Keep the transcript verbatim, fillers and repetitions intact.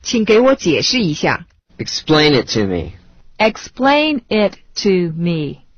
请给我解释一下。 Explain it to me. Explain it to me.